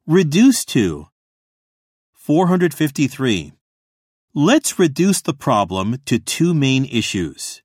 Reduce to. 453. Let's reduce the problem to two main issues.